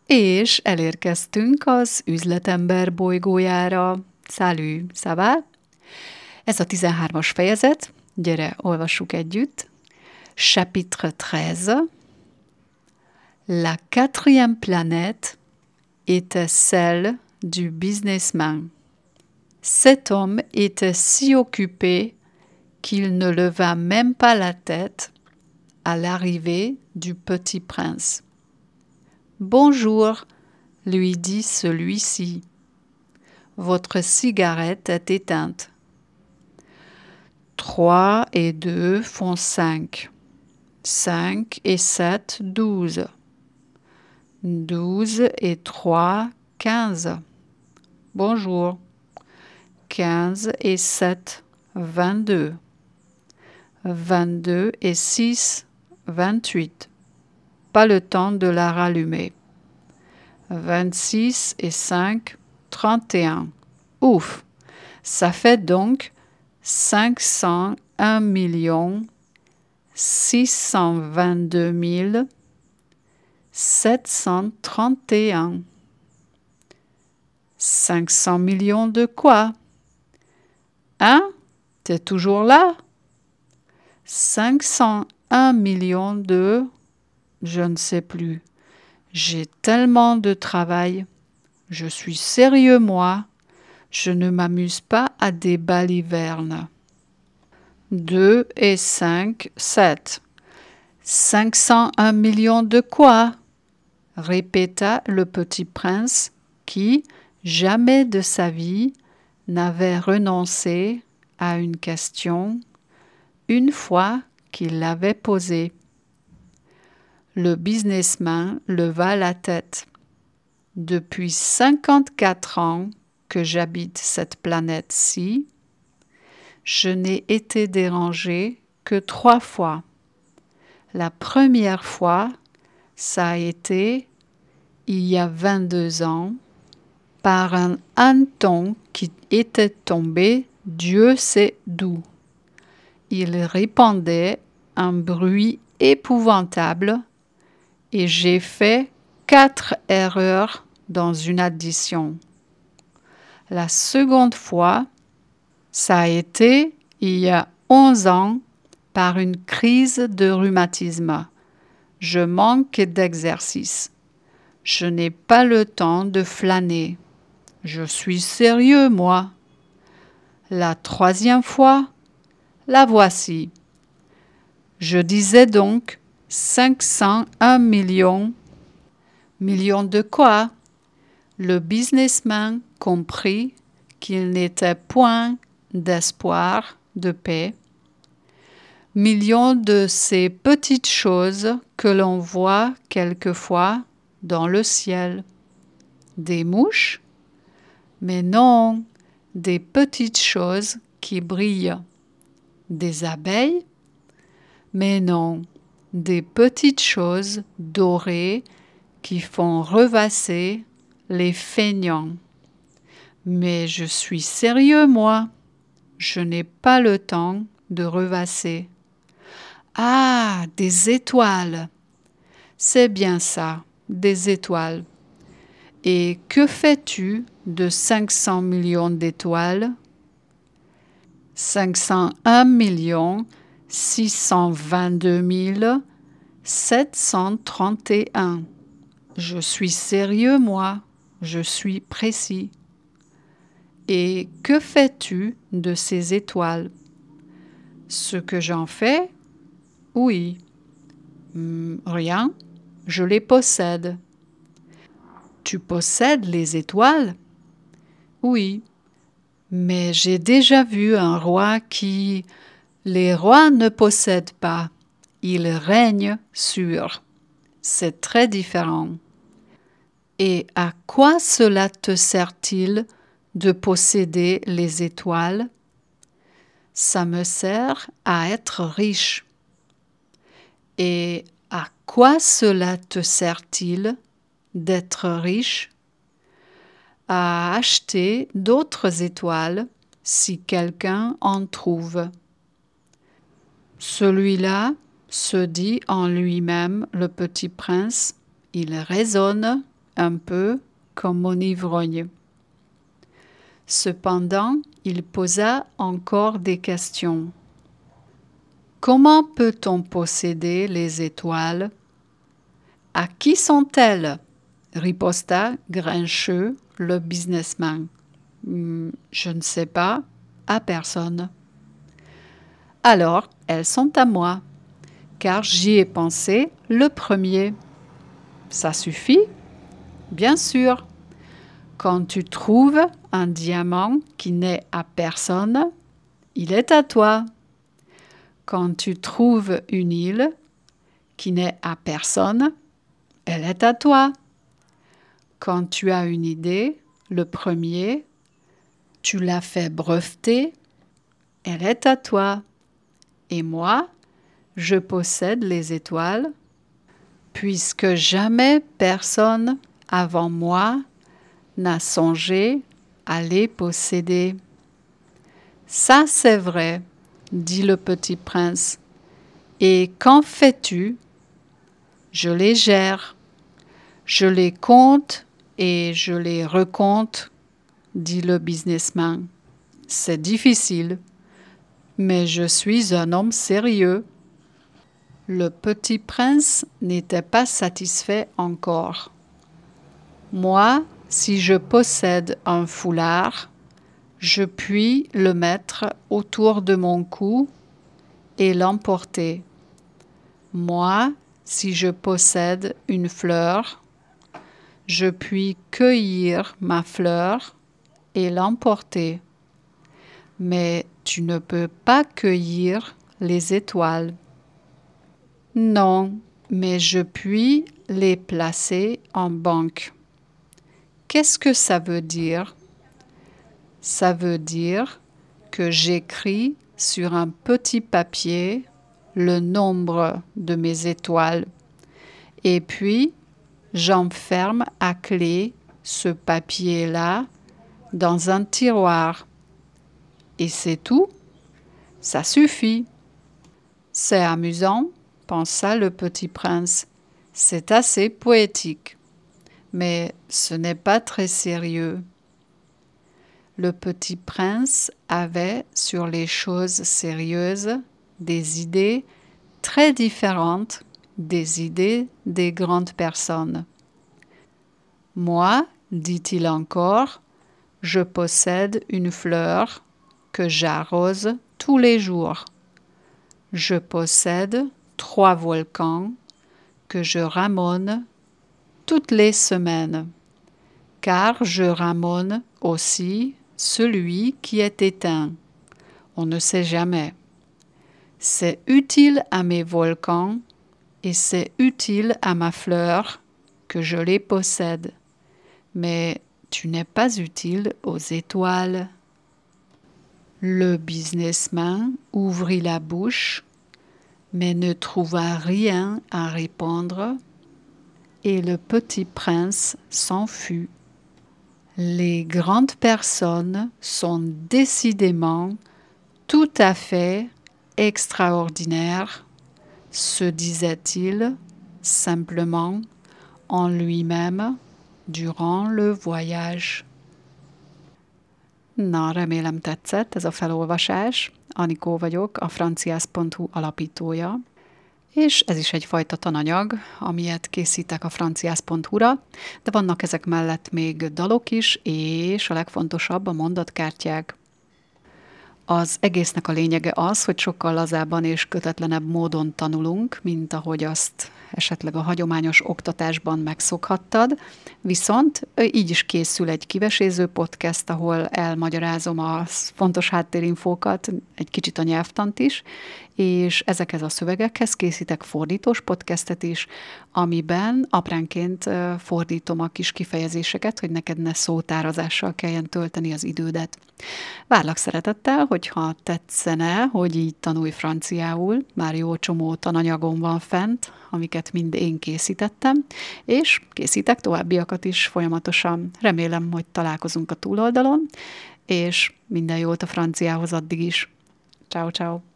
És elérkeztünk az üzletember bolygójára. Salut, ça va? Ez a 13-as fejezet. Gyere, olvassuk együtt. Chapitre 13. La quatrième planète était celle du businessman. Cet homme était si occupé qu'il ne leva même pas la tête à l'arrivée du petit prince. Bonjour, lui dit celui-ci. Votre cigarette est éteinte. 3 et 2 font 5. 5 et 7, 12. 12 et 3, 15. Bonjour. 15 et 7, 22. 22 et 6, 28. Pas le temps de la rallumer. 26 et 5, 31. Ouf! Ça fait donc 501 622 731. 500 millions de quoi? Hein? T'es toujours là? 501 millions de... Je ne sais plus. J'ai tellement de travail. Je suis sérieux, moi. Je ne m'amuse pas à des balivernes. 2 et 5, 7. 501 millions de quoi? Répéta le petit prince qui, jamais de sa vie, n'avait renoncé à une question une fois qu'il l'avait posée. Le businessman leva la tête. Depuis 54 ans que j'habite cette planète-ci, je n'ai été dérangé que 3 fois. La première fois, ça a été, il y a 22 ans, par un hanneton qui était tombé, Dieu sait d'où. Il répandait un bruit épouvantable et j'ai fait 4 erreurs dans une addition. La seconde fois, ça a été il y a 11 ans par une crise de rhumatisme. Je manque d'exercice. Je n'ai pas le temps de flâner. Je suis sérieux, moi. La troisième fois, la voici. Je disais donc 501 millions. Millions de quoi? Le businessman comprit qu'il n'était point d'espoir de paix. Millions de ces petites choses que l'on voit quelquefois dans le ciel. Des mouches? Mais non, des petites choses qui brillent. Des abeilles? Mais non, des petites choses dorées qui font revasser les feignants. Mais je suis sérieux, moi. Je n'ai pas le temps de revasser. Ah, des étoiles. C'est bien ça, des étoiles. Et que fais-tu de 500 millions d'étoiles? 501 622 731. Je suis sérieux, moi. Je suis précis. Et que fais-tu de ces étoiles? Ce que j'en fais? Oui. Rien. Je les possède. Tu possèdes les étoiles? Oui. Mais j'ai déjà vu un roi qui... Les rois ne possèdent pas. Ils règnent sur. C'est très différent. Et à quoi cela te sert-il de posséder les étoiles? Ça me sert à être riche. Et à quoi cela te sert-il d'être riche? À acheter d'autres étoiles si quelqu'un en trouve. Celui-là se dit en lui-même, le petit prince, il raisonne un peu comme mon ivrogne. Cependant, il posa encore des questions. Comment peut-on posséder les étoiles? À qui sont-elles? Riposta grincheux le businessman. Je ne sais pas, à personne. Alors, elles sont à moi, car j'y ai pensé le premier. Ça suffit? Bien sûr. Quand tu trouves un diamant qui n'est à personne, il est à toi. Quand tu trouves une île qui n'est à personne, elle est à toi. Quand tu as une idée, le premier, tu l'as fait breveter, elle est à toi. Et moi, je possède les étoiles, puisque jamais personne avant moi n'a songé à les posséder. Ça, c'est vrai, dit le petit prince. Et qu'en fais-tu? Je les gère. Je les compte et je les recompte, dit le businessman. C'est difficile, mais je suis un homme sérieux. Le petit prince n'était pas satisfait encore. Moi, si je possède un foulard, je puis le mettre autour de mon cou et l'emporter. Moi, si je possède une fleur, je puis cueillir ma fleur et l'emporter. Mais tu ne peux pas cueillir les étoiles. Non, mais je puis les placer en banque. Qu'est-ce que ça veut dire? Ça veut dire que j'écris sur un petit papier le nombre de mes étoiles et puis j'enferme à clé ce papier-là dans un tiroir. Et c'est tout, ça suffit. C'est amusant, pensa le petit prince. C'est assez poétique, mais ce n'est pas très sérieux. Le petit prince avait sur les choses sérieuses des idées très différentes des idées des grandes personnes. Moi, dit-il encore, je possède une fleur que j'arrose tous les jours. Je possède 3 volcans que je ramone toutes les semaines, car je ramone aussi celui qui est éteint. On ne sait jamais. C'est utile à mes volcans et c'est utile à ma fleur que je les possède. Mais tu n'es pas utile aux étoiles. Le businessman ouvrit la bouche, mais ne trouva rien à répondre, et le petit prince s'en fut. Les grandes personnes sont décidément tout à fait extraordinaires, se disait-il simplement en lui-même durant le voyage. Na, remélem tetszett ez a felolvasás. Anikó vagyok, a franciász.hu alapítója, és ez is egyfajta tananyag, amilyet készítek a franciász.hu-ra, de vannak ezek mellett még dalok is, és a legfontosabb a mondatkártyák. Az egésznek a lényege az, hogy sokkal lazábban és kötetlenebb módon tanulunk, mint ahogy azt esetleg a hagyományos oktatásban megszokhattad, viszont így is készül egy kiveséző podcast, ahol elmagyarázom a fontos háttérinfókat, egy kicsit a nyelvtant is, és ezekhez a szövegekhez készítek fordítós podcastet is, amiben apránként fordítom a kis kifejezéseket, hogy neked ne szótárazással kelljen tölteni az idődet. Várlak szeretettel, hogyha tetszene, hogy így tanulj franciául, már jó csomó tananyagom van fent, amiket mind én készítettem, és készítek továbbiakat is folyamatosan. Remélem, hogy találkozunk a túloldalon, és minden jót a franciához addig is. Ciao, ciao.